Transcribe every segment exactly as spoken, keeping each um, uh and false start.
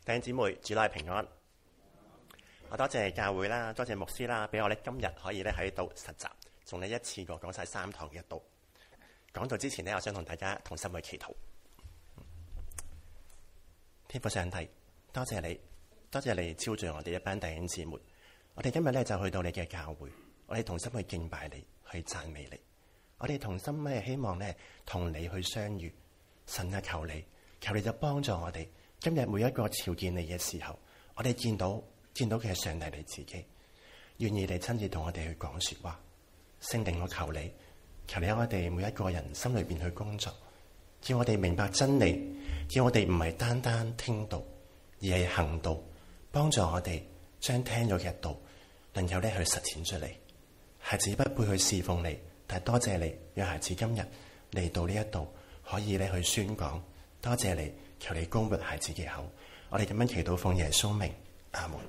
弟兄姊妹，主內平安。我多謝教會啦，多謝牧師啦，俾我咧今日可以咧喺度實習，仲咧一次過講晒三堂嘅道。講到之前呢，我想同大家同心去祈禱。天父上帝，多謝你，多謝你召聚我哋一班弟兄姊妹。我哋今日咧就去到你嘅教會，我哋同心去敬拜你，去讚美你。我哋同心咧希望咧同你去相遇。神啊，求你，求你就幫助我哋。今日每一個朝見你嘅時候，我哋見到見到嘅係上帝你自己，願意你親自同我哋去講說話。聖靈，我求你，求你喺我哋每一個人心裏邊去工作，叫我哋明白真理，叫我哋唔係單單聽道，而係行道，幫助我哋將聽咗嘅道能夠咧去實踐出嚟。孩子不配去侍奉你，但係多謝你，讓孩子今日嚟到呢一度可以咧去宣講。多謝你，求你膏抹孩子嘅口。我哋咁樣祈禱奉耶穌名，阿門。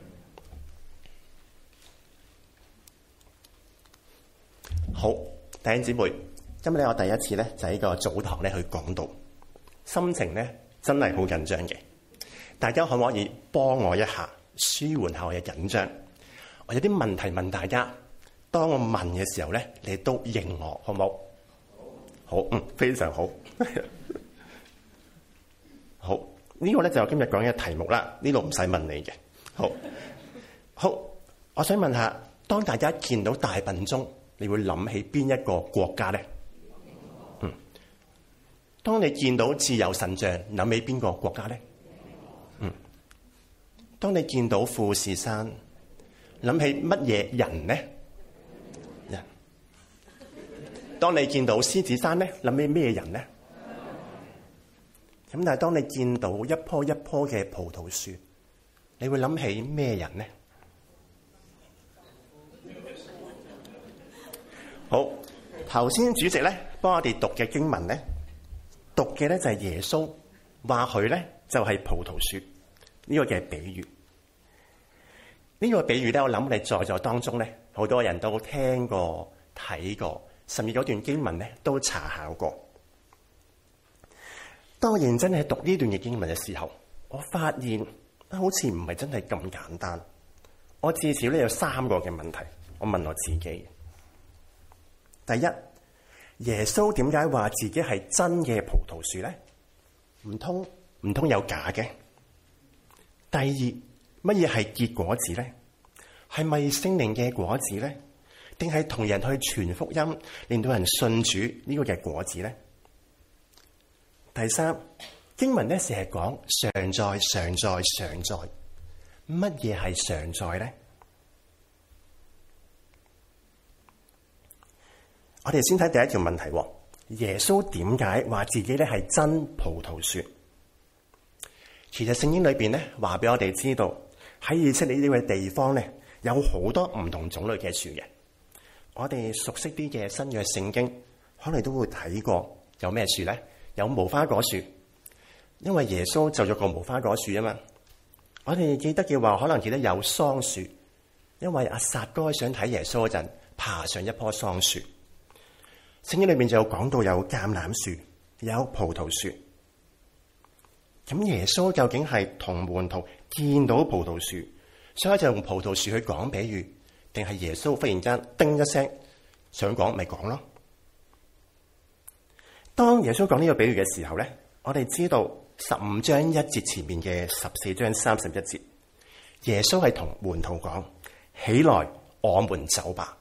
好，弟兄姊妹，今日咧我第一次咧就喺個早堂咧去講道，心情咧真係好緊張嘅。大家可唔可以幫我一下，舒緩下我嘅緊張？我有啲問題問大家，當我問嘅時候咧，你都應我，好唔好？好，嗯，非常好。好，呢個咧就係今日講嘅題目啦。呢度唔使問你嘅。好，好，我想問下，當大家見到大笨鐘，你會諗起邊一個國家咧？嗯，當你見到自由神像，諗起邊個國家咧？嗯，當你見到富士山，諗起乜嘢人咧？人。當你見到獅子山咧，諗起咩人咧？咁但係當你見到一棵一棵嘅葡萄樹，你會諗起咩人呢？好，頭先主席咧幫我哋讀嘅經文咧，讀嘅咧就係耶穌話佢咧就係葡萄樹呢個嘅比喻。呢個比喻咧，我諗你在座當中咧，好多人都聽過、睇過，甚至嗰段經文咧都查考過。當我認真係讀呢段嘅經文嘅時候，我發現好似唔係真係咁簡單。我至少咧有三個嘅問題，我問我自己。第一，耶穌點解話自己係真嘅葡萄樹咧？唔通唔通有假嘅？第二，乜嘢係結果子咧？係咪聖靈嘅果子咧？定係同人去傳福音，令到人信主呢個嘅果子咧？第三，經文咧成日講常在、常在、常在，乜嘢係常在咧？我哋先睇第一條問題，耶穌點解話自己咧係真葡萄樹？其實聖經裏邊咧話俾我哋知道，喺以色列呢個地方咧有好多唔同種類嘅樹嘅。我哋熟悉啲嘅新約聖經，可能都會睇過有咩樹咧？有無花果樹，因為耶穌就咗個無花果樹啊嘛。我哋記得嘅話，可能記得有桑樹，因為阿撒該想睇耶穌嗰陣，爬上一棵桑樹。聖經裏面就有講到有橄欖樹，有葡萄樹。咁耶穌究竟係同門徒見到葡萄樹，所以就用葡萄樹去講比喻，定係耶穌忽然間叮一聲想講咪講咯？當耶穌講呢個比喻嘅時候咧，我哋知道十五章一節前面嘅十四章三十一節，耶穌係同門徒講：起來，我們走吧。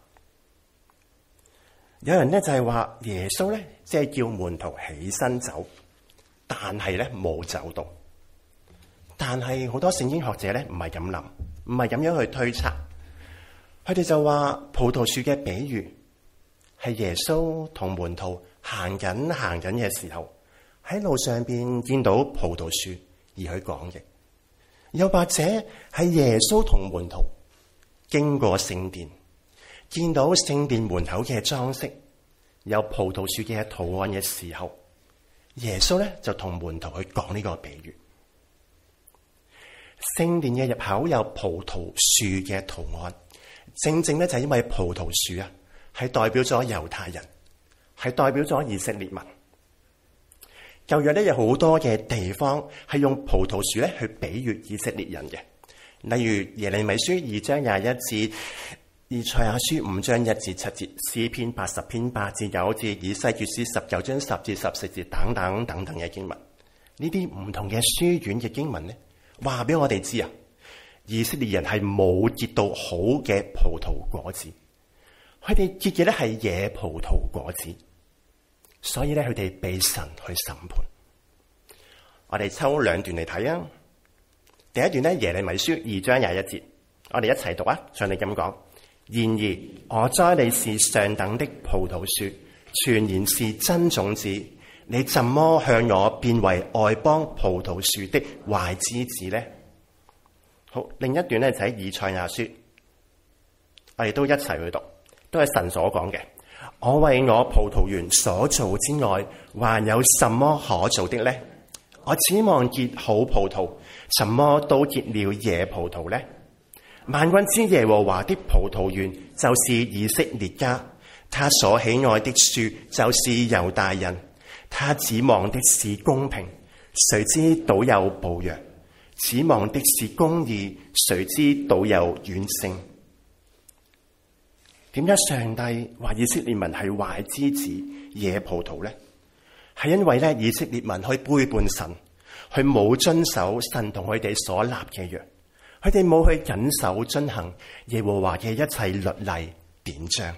有人咧就係話耶穌咧即係叫門徒起身走，但係咧冇走到。但係好多聖經學者咧唔係咁諗，唔係咁樣去推測，佢哋就話葡萄樹嘅比喻係耶穌同門徒行緊行緊嘅時候，喺路上邊見到葡萄樹而去講嘅，又或者係耶穌同門徒經過聖殿，見到聖殿門口嘅裝飾有葡萄樹嘅圖案嘅時候，耶穌咧就同門徒去講呢個比喻。聖殿嘅入口有葡萄樹嘅圖案，正正咧就係因為葡萄樹啊，係代表咗猶太人，係代表咗以色列民。 舊約咧有好多嘅地方係用葡萄樹咧去比喻以色列人嘅，例如耶利米書二章廿一節、以賽亞書五章一至七節、詩篇八十篇八至九節、以西結書十九章十至十四節等等等等嘅經文。呢啲唔同嘅書卷嘅經文咧，話俾我哋知啊，以色列人係冇結到好嘅葡萄果子，佢哋結嘅咧係野葡萄果子。所以咧，佢哋被神去審判。我哋抽兩段嚟睇啊。第一段咧，耶利米書二章廿一節，我哋一齊讀啊。像你咁講，然而我栽你是上等的葡萄樹，全然是真種子。你怎麼向我變為外邦葡萄樹的壞枝子呢？好，另一段咧就喺以賽亞書，我哋都一齊去讀，都係神所講嘅。我為我葡萄園所做之外，還有什麼可做的呢？我指望結好葡萄，什麼都結了野葡萄呢？萬軍之耶和華的葡萄園就是以色列家，他所喜愛的樹就是猶大人，他指望的是公平，誰知倒有暴虐；指望的是公義，誰知倒有怨聲。點解上帝話以色列民係壞枝子、野葡萄呢？係因為咧以色列民去背叛神，佢冇遵守神同佢哋所立嘅約，佢哋冇去謹守遵行耶和華嘅一切律例典章。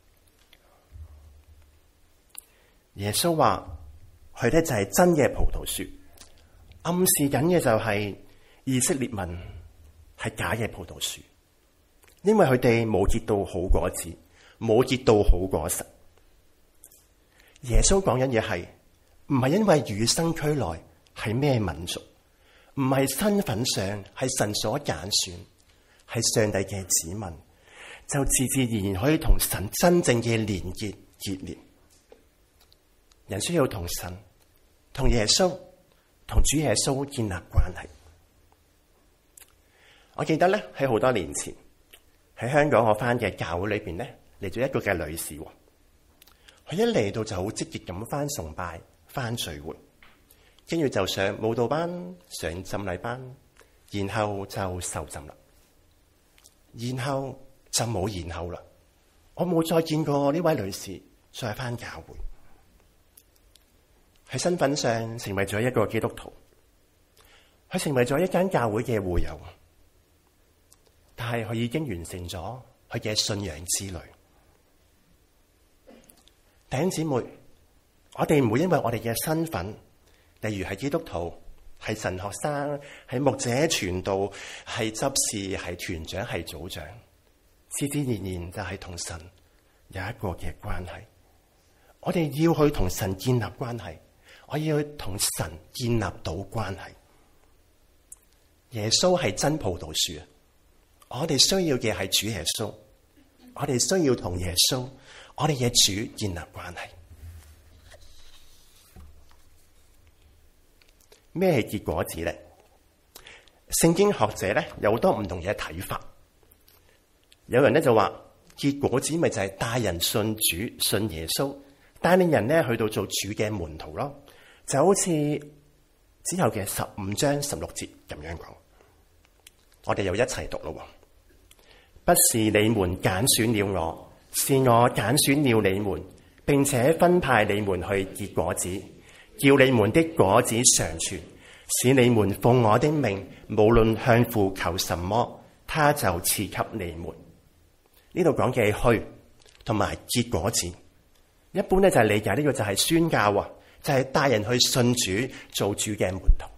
耶穌話佢咧就係真嘅葡萄樹，暗示緊嘅就係以色列民係假嘅葡萄樹。因為佢哋冇結到好果子，冇結到好果實。耶穌講緊嘢係唔係因為與生俱來係咩民族，唔係身份上係神所揀選，係上帝嘅子民，就自自然然可以同神真正嘅連結結連。人需要同神、同耶穌、同主耶穌建立關係。我記得咧喺好多年前。喺香港我翻嘅教會裏邊咧，嚟咗一個嘅女士，佢一嚟到就好積極咁翻崇拜、翻聚會，跟住就上舞蹈班、上浸禮班，然後就受浸啦，然後就冇然後啦。我冇再見過呢位女士再翻教會，喺身份上成為咗一個基督徒，佢成為咗一間教會嘅會友。但係佢已經完成咗佢嘅信仰之旅。弟兄姊妹，我哋唔會因為我哋嘅身份，例如係基督徒、係神學生、係牧者傳道、係執事、係團長、係組長，自自然然就係同神有一個嘅關係。我哋要去同神建立關係，我要去同神建立到關係。耶穌係真葡萄樹。我哋需要嘅係主耶穌，我哋需要同耶穌，我哋嘅主建立關係。咩係結果子咧？聖經學者咧有好多唔同嘅睇法。有人咧就話結果子咪就係帶人信主、信耶穌，帶領人咧去到做主嘅門徒咯。就好似之後嘅十五章十六節咁樣講。我哋又一齊讀咯。不是你們揀選了我，是我揀選了你們，並且分派你們去結果子，叫你們的果子常存，使你們奉我的名，無論向父求什麼，他就賜給你們。呢度講嘅去同埋結果子，一般咧就係理解呢個就係宣教啊，就係帶人去信主、做主嘅門徒。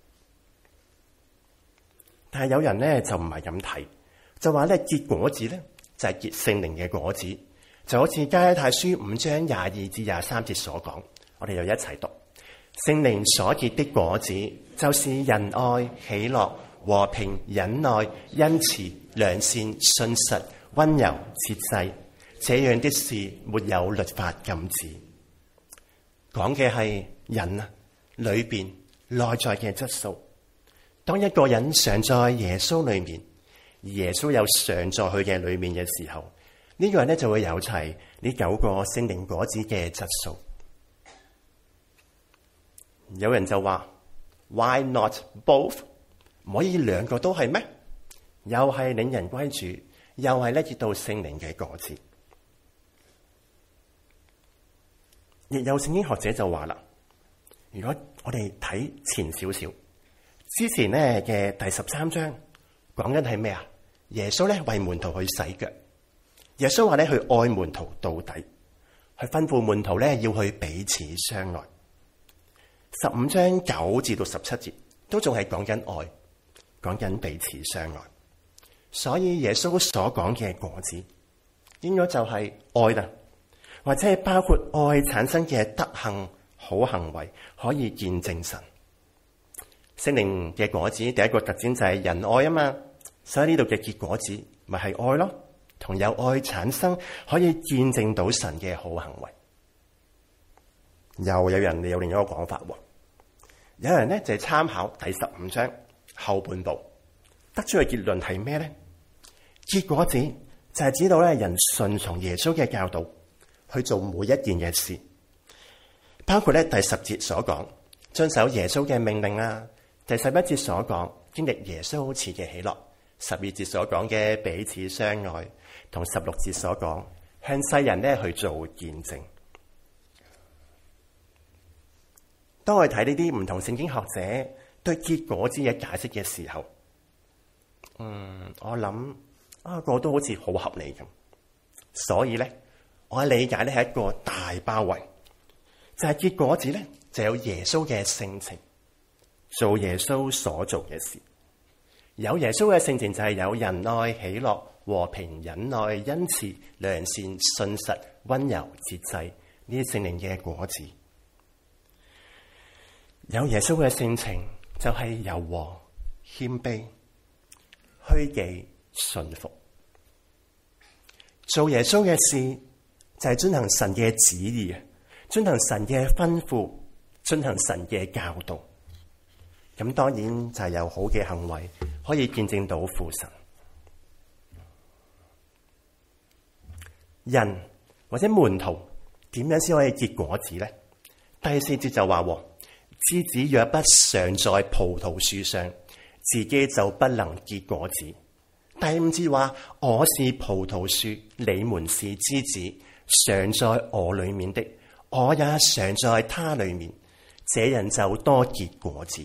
但係有人咧就唔係咁睇。就話咧結果子咧就係結聖靈嘅果子，就好似加拉太書五章廿二至廿三節所講，我哋又一齊讀。聖靈所結的果子，就是仁愛、喜樂、和平、忍耐、恩慈、良善、信實、溫柔、節制，這樣的事沒有律法禁止。講嘅係人啊裏邊內在嘅質素。當一個人常在耶穌裏面，而耶穌有常在佢嘅裏面嘅時候，呢、這個人咧就會有齊呢九個聖靈果子嘅質素。 有人就話 Why not both？ 唔可以兩個都係咩？又係領人歸主，又係咧結到聖靈嘅果子。亦有聖經學者就話啦，如果我哋睇前少少，之前咧嘅第十三章講緊係咩啊？耶穌咧為門徒去洗腳，耶穌話咧去愛門徒到底，去吩咐門徒咧要去彼此相愛。十五章九至到十七節都仲係講緊愛，講緊彼此相愛。所以耶穌所講嘅果子，應該就係愛啦，或者係包括愛產生嘅德行、好行為，可以見證神。聖靈嘅果子第一個特徵就係仁愛啊嘛，所以呢度嘅結果子咪係愛咯，同有愛產生可以見證到神嘅好行為。又有人有另一個講法，有人咧就係參考第十五章後半部，得出嘅結論係咩咧？結果子就係指到咧人順從耶穌嘅教導去做每一件嘅事，包括咧第十節所講遵守耶穌嘅命令啊，第十一節所講經歷耶穌賜嘅喜樂，十二節所講嘅彼此相愛，同十六節所講向世人咧去做見證。當我哋睇呢啲唔同聖經學者對結果子嘅解釋嘅時候，嗯，我諗啊個都好似好合理咁。所以咧，我嘅理解咧係一個大包圍，就係、是、結果子咧就有耶穌嘅性情，做耶穌所做嘅事。有耶穌嘅性情就係有仁愛、喜樂、和平、忍耐、恩慈、良善、信實、溫柔、節制呢啲聖靈嘅果子。有耶穌嘅性情就係柔和、謙卑、虛己、順服。做耶穌嘅事就係遵行神嘅旨意，遵行神嘅吩咐，遵行神嘅教導。咁當然就係有好嘅行為可以見證到父神。人或者門徒點樣先可以結果子呢？第四節就話，枝子若不常在葡萄樹上，自己就不能結果子。第五節話，我是葡萄樹，你們是枝子，常在我裏面的，我也常在他裏面，這人就多結果子。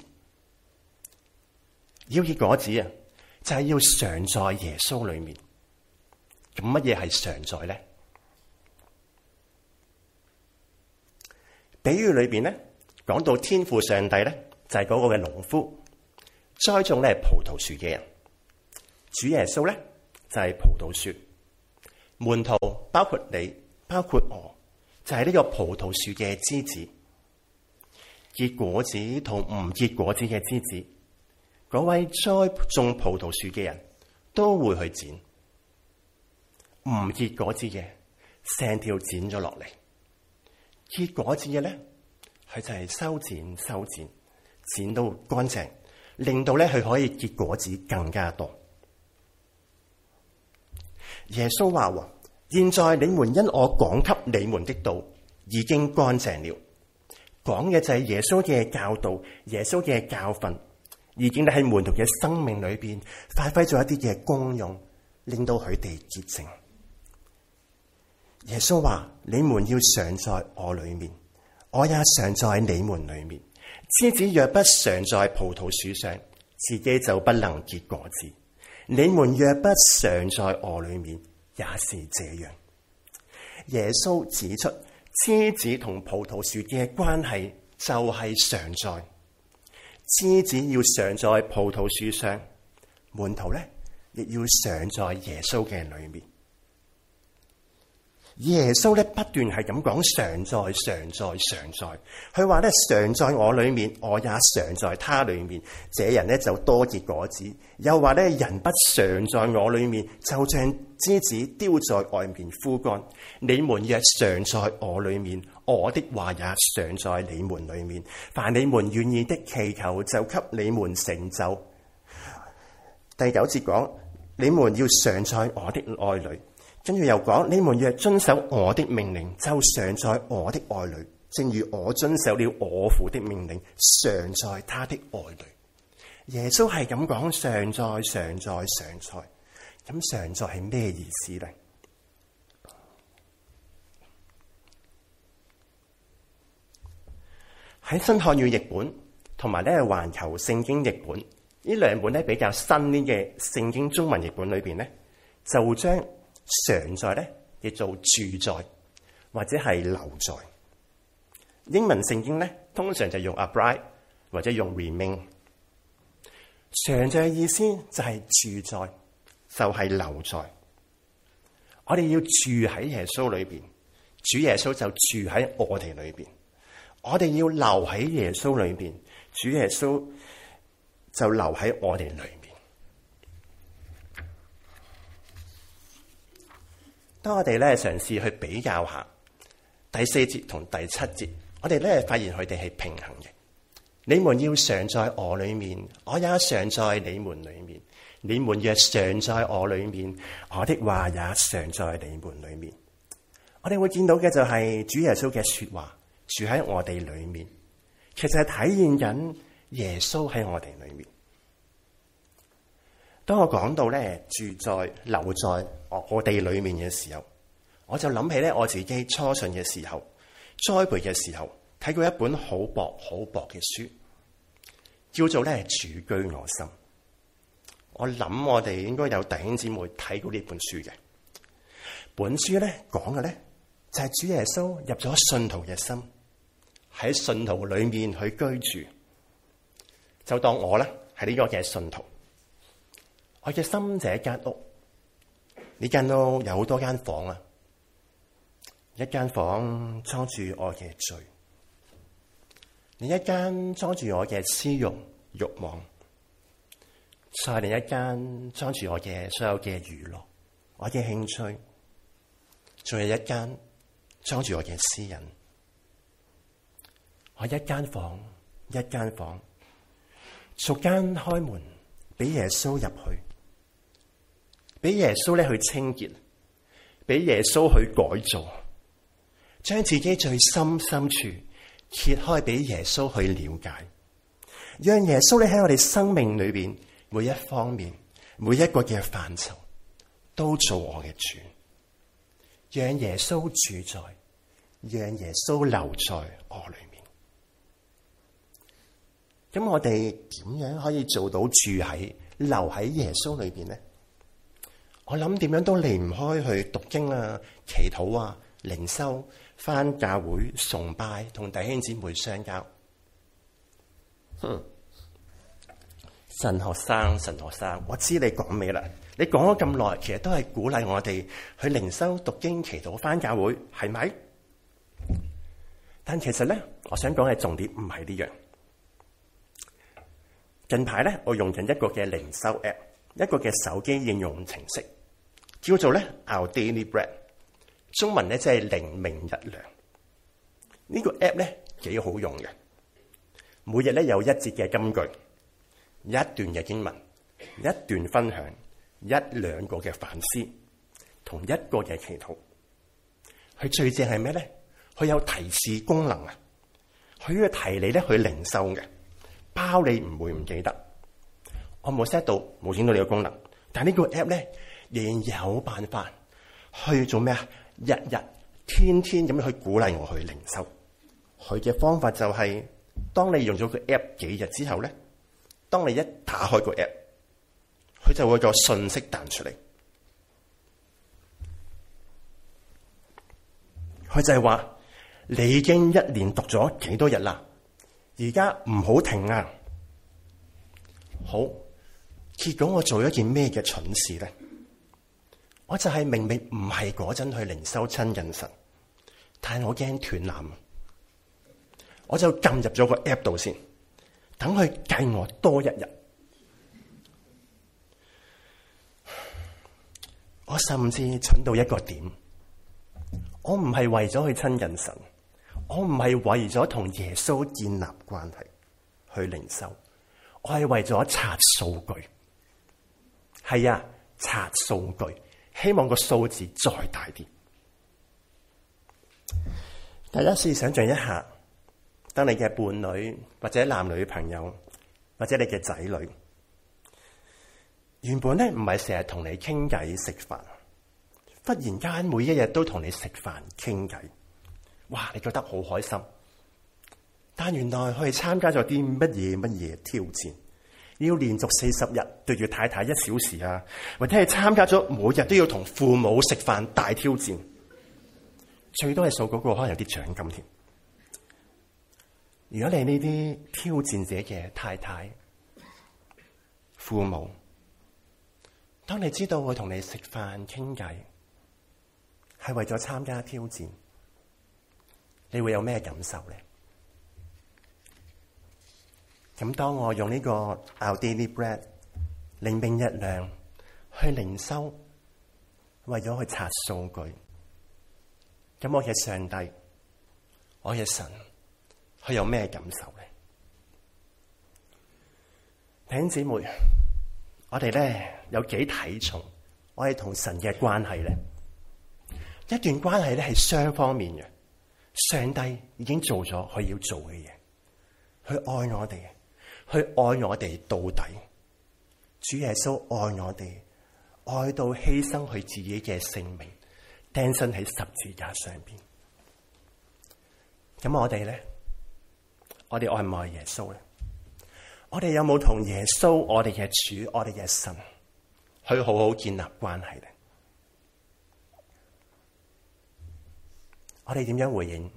要結果子啊，就係要常在耶穌裏面。咁乜嘢係常在呢？比喻裏邊咧，講到天父上帝咧，就係嗰個嘅農夫，栽種咧葡萄樹嘅人。主耶穌咧就係葡萄樹，門徒包括你，包括我，就係呢個葡萄樹嘅枝子。結果子同唔結果子嘅枝子，嗰位栽種葡萄樹嘅人都會去剪，唔結果子嘅成條剪咗落嚟，結果子嘅咧，佢就係修剪修剪，剪到乾淨，令到咧佢可以結果子更加多。耶穌話：現在你們因我講給你們的道已經乾淨了。講嘅就係耶穌嘅教導，耶穌嘅教訓，已經喺門徒嘅生命裏邊發揮咗一啲嘅功用，令到佢哋潔淨。耶穌話：你們要常在我裏面，我也常在你們裏面。枝子若不常在葡萄樹上，自己就不能結果子。你們若不常在我裏面，也是這樣。耶穌指出，枝子同葡萄樹嘅關係就係常在。枝子要常在葡萄樹上，門徒咧亦要常在耶穌嘅裏面。耶穌咧不斷係咁講常在常在常在，佢話咧常在我裏面，我也常在他裏面，這人咧就多結果子。又話咧人不常在我裏面，就像枝子丟在外面枯乾。你們若常在我裏面，我的話也常在你們裏面，凡你們願意的祈求，就給你們成就。第九節講，你們要常在我的愛裏。跟住又講，你們若遵守我的命令，就常在我的愛裏， 正如我遵守了我父的命令，常在他的愛裡。耶穌係咁講，常在、常在、常在。咁常在係咩意思呢？喺新漢語譯本同埋咧環球聖經譯本呢兩本咧比較新啲嘅聖經中文譯本裏邊咧，就將常在咧譯做住在或者係留在。英文聖經咧通常就用 abide 或者用 remain。常在嘅意思就係住在，就係留在。我哋要住喺耶穌裏邊，主耶穌就住喺我哋裏邊。我哋要留喺耶穌裏邊，主耶穌就留喺我哋裏面。當我哋咧嘗試去比較下第四節同第七節，我哋咧發現佢哋係平衡嘅。你們要常在我裏面，我也常在你們裏面。你們若常在我裏面，我的話也常在你們裏面。我哋會見到嘅就係主耶穌嘅說話住喺我哋裏面，其實係體現緊耶穌喺我哋裏面。當我講到咧住在留在我哋裏面嘅時候，我就諗起咧我自己初信嘅時候，栽培嘅時候睇過一本好薄好薄嘅書，叫做咧住居我心。我諗我哋應該有弟兄姊妹睇過呢本書嘅。本書咧講嘅咧就係主耶穌入咗信徒嘅心，喺信徒裏面去居住。就當我咧係呢個嘅信徒，我嘅心就係一間屋。呢間屋有好多間房啊，一間房裝住我嘅罪，另一間裝住我嘅私慾慾望，再另一間裝住我嘅所有嘅娛樂，我嘅興趣，仲有一間裝住我嘅私隱。我一間房一間房，逐間開門俾耶穌入去，俾耶穌咧去清潔，俾耶穌去改造，將自己最深深處揭開俾耶穌去了解，讓耶穌咧喺我哋生命裏邊每一方面每一個嘅範疇都做我嘅主，讓耶穌住在，讓耶穌留在我裏面。咁我哋點樣可以做到住喺留喺耶穌裏邊呢？我諗點樣都離唔開去讀經啊、祈禱啊、靈修、返教會、崇拜、同弟兄姊妹相交。哼，神學生，神學生，我知你講咩啦？你講咗咁耐，其實都係鼓勵我哋去靈修、讀經、祈禱、返教會，係咪？但其實咧，我想講嘅重點唔係呢樣。近排咧，我用緊一個嘅靈修 app， 一個嘅手機應用程式，叫做咧 Our Daily Bread， 中文咧即係靈命日糧。呢個 app 咧幾好用嘅，每日咧有一節嘅金句，一段嘅經文，一段分享，一兩個嘅反思，同一個嘅祈禱。佢最正係咩咧？佢有提示功能啊！佢要提你咧去靈修嘅。包你唔會唔記得，我冇 set 到冇整到你個功能，但係呢個 app 咧仍然有辦法去做咩啊？日日天天咁樣去鼓勵我去靈修。佢嘅方法就係、是，當你用咗個 app 幾日之後咧，當你一打開個 app， 佢就會有個信息彈出嚟。佢就係話你已經一連讀咗幾多日啦。而家唔好停啊！好，結果我做咗一件咩嘅蠢事咧？我就係明明唔係嗰陣去靈修親近神，但係我驚斷纜，我就撳入咗個 app 度先，等佢計我多一日。我甚至蠢到一個點，我唔係為咗去親近神。我唔係為咗同耶穌建立關係去靈修，我係為咗刷數據。係啊，刷數據，希望個數字再大啲。大家試想象一下， 當你嘅伴侶或者男女朋友或者你嘅仔女，原本咧唔係成日同你傾偈食飯，忽然間每一日都同你食飯傾偈，哇！你覺得好開心。但原來佢係參加咗啲乜嘢乜嘢挑戰，要連續四十日對住太太一小時啊，或者係參加咗每日都要同父母食飯大挑戰，最多係數嗰個可能有啲獎金添。如果你呢啲挑戰者嘅太太、父母，當你知道會同你食飯傾偈係為咗參加挑戰，你會有咩感受呢？咁當我用呢個 Our Daily Bread 靈命日糧去靈修，為咗去查數據，咁我嘅上帝、我嘅神，佢有咩感受呢？弟兄姊妹，我哋咧有幾睇重我哋同神嘅關係咧？一段關係咧係雙方面嘅，上帝已經做咗佢要做嘅嘢，佢愛我哋，佢愛我哋到底。主耶穌愛我哋，愛到犧牲佢自己嘅性命，釘身喺十字架上邊。咁我哋咧，我哋愛唔愛耶穌咧？我哋有冇同耶穌，我哋嘅主，我哋嘅神，去好好建立關係咧？我哋點樣回應？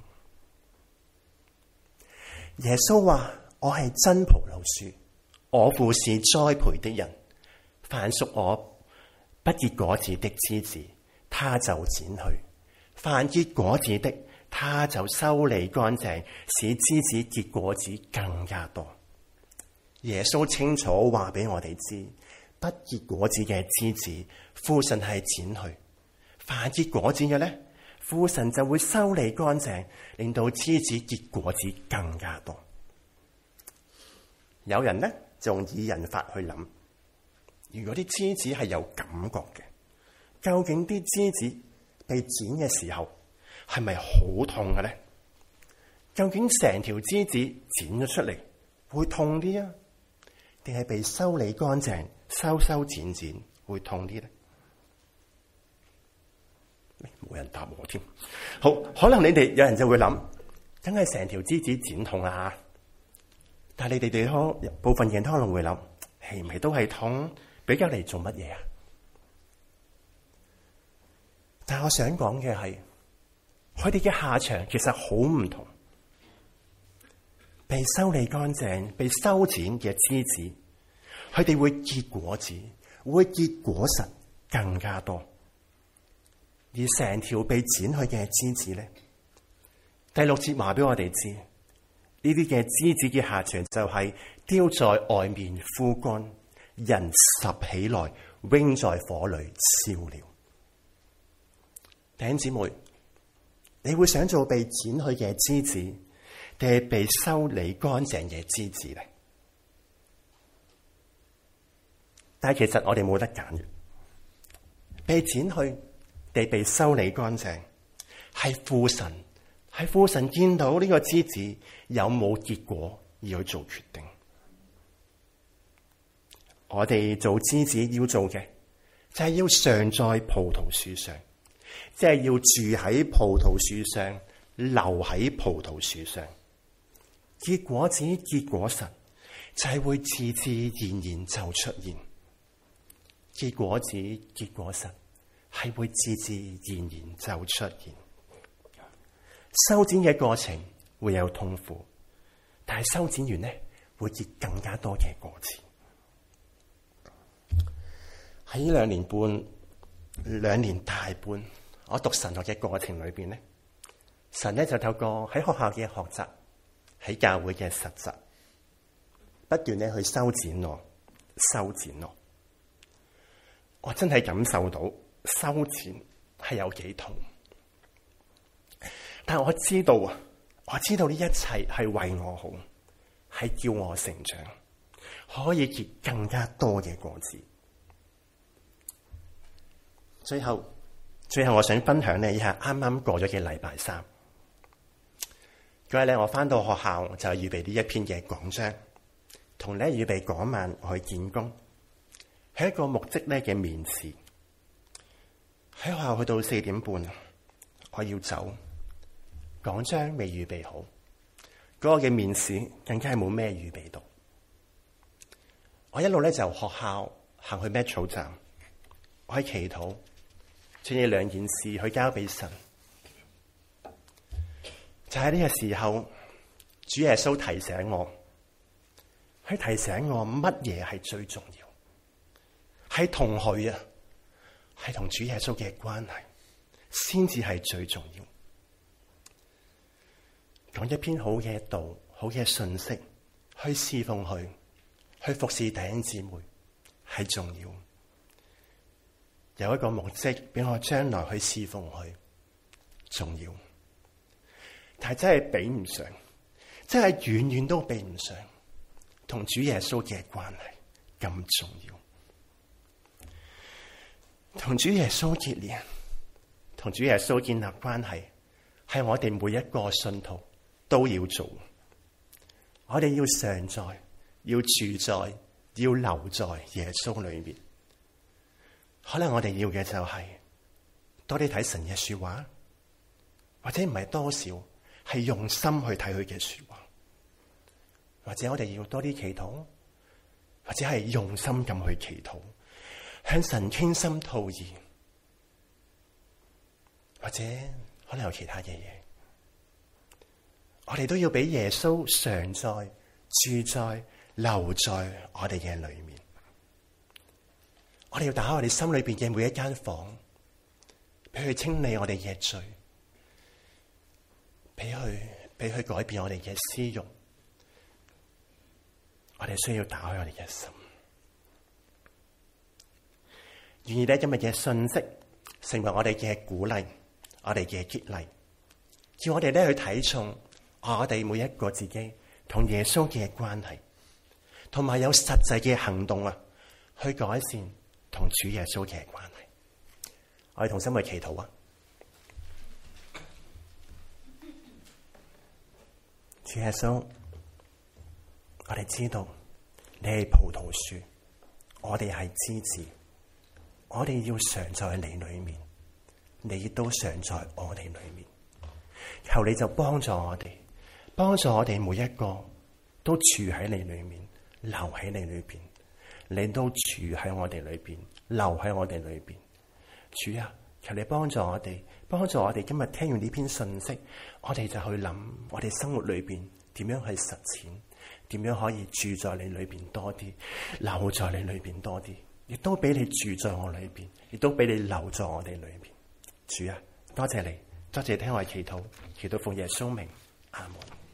耶穌話：我係真葡萄樹，我父是栽培的人，凡屬我不結果子的枝子，他就剪去；凡結果子的，他就修理乾淨，使枝子結果子更加多。耶穌清楚話俾我哋知，不結果子嘅枝子，父神係剪去；凡結果子嘅咧，父神就會修理乾淨，令到枝子結果子更加多。有人咧就用擬人法去諗，如果啲枝子係有感覺嘅，究竟啲枝子被剪嘅時候係咪好痛嘅咧？究竟成條枝子剪咗出嚟會痛啲啊，定係被修理乾淨、修修剪剪會痛啲咧？冇人答我添。好，可能你哋有人就會諗，梗係成條枝子剪痛啦。但係你哋哋可部分人可能會諗，係咪都係痛？比較嚟做乜嘢啊？但係我想講嘅係，佢哋嘅下場其實好唔同。被修理乾淨、被修剪嘅枝子，佢哋會結果子，會結果實更加多。而成條被剪去嘅枝子咧，第六節話俾我哋知，呢啲嘅枝子嘅下場就係丟在外面枯乾，人拾起來扔在火裏燒了。弟兄姊妹，你會想做被剪去嘅枝子，定係被修理乾淨嘅枝子咧？但係其實我哋冇得揀嘅，被剪去地被修理乾淨，係父神，係父神見到呢個枝子有冇結果而去做決定。我哋做枝子要做嘅就係要常在葡萄樹上，即係要住喺葡萄樹上，留喺葡萄樹上，結果子結果實，就係會自自然然就出現。結果子結果實，係會自自然然就出現。修剪嘅過程會有痛苦，但係修剪完呢，會結更加多嘅果子。喺呢兩年半、兩年大半，我讀神學嘅過程裏邊呢，神呢就透過喺學校嘅學習，喺教會嘅實習，不斷咧去修剪我、修剪我。我真係感受到修剪係有幾痛，但我知道啊，我知道呢一切係為我好，係叫我成長，可以結更加多嘅果子。最後，最後我想分享呢一下啱啱過咗嘅禮拜三，嗰嗰日咧，我翻到學校就預備呢一篇嘅講章，同咧預備嗰晚我去見工，係一個牧職咧嘅面試。喺學校去到四點半，我要走，講章未預備好，嗰個嘅面試更加係冇咩預備到。我一路咧就由學校行去 Metro 站，我喺祈禱，將呢兩件事去交俾神。就喺呢個時候，主耶穌提醒我，佢提醒我乜嘢係最重要，係同佢啊，係同主耶穌嘅關係，先至係最重要。講一篇好嘅道，好嘅信息，去侍奉佢，去服侍弟兄姊妹，係重要。有一個目的俾我將來去侍奉佢，重要。但係真係比唔上，真係遠遠都比唔上同主耶穌嘅關係咁重要。同主耶穌結連，同主耶穌建立關係，係我哋每一個信徒都要做。我哋要常在，要住在，要留在耶穌裏面。可能我哋要嘅就係多啲睇神嘅說話，或者唔係多少，係用心去睇佢嘅說話，或者我哋要多啲祈禱，或者係用心咁去祈禱，向神傾心吐意，或者可能有其他嘅嘢，我哋都要俾耶穌常在、住在、留在我哋嘅裏面。我哋要打開我哋心裏邊嘅每一間房，俾佢清理我哋嘅罪，俾佢俾佢改變我哋嘅私欲。我哋需要打開我哋嘅心，願意咧今日嘅信息成為我哋嘅鼓勵，我哋嘅激勵，叫我哋咧去睇重我哋每一個自己同耶穌嘅關係，同埋有實際嘅行動啊，去改善同主耶穌嘅關係。我哋同心去祈禱啊！主耶穌，我哋知道你係葡萄樹，我哋係枝子，我哋要常在你裏面，你亦都常在我哋裏面。求你就幫助我哋，幫助我哋每一個都住喺你裏面，留喺你裏邊，你都住喺我哋裏邊，留喺我哋裏邊。主啊，求你幫助我哋，幫助我哋今日聽完呢篇信息，我哋就去諗我哋生活裏邊點樣去實踐，點樣可以住在你裏邊多啲，留在你裏邊多啲，亦都俾你住在我裏邊，亦都俾你留在我哋裏邊。主啊，多謝你，多謝聽我祈禱，祈禱奉耶穌名，阿門。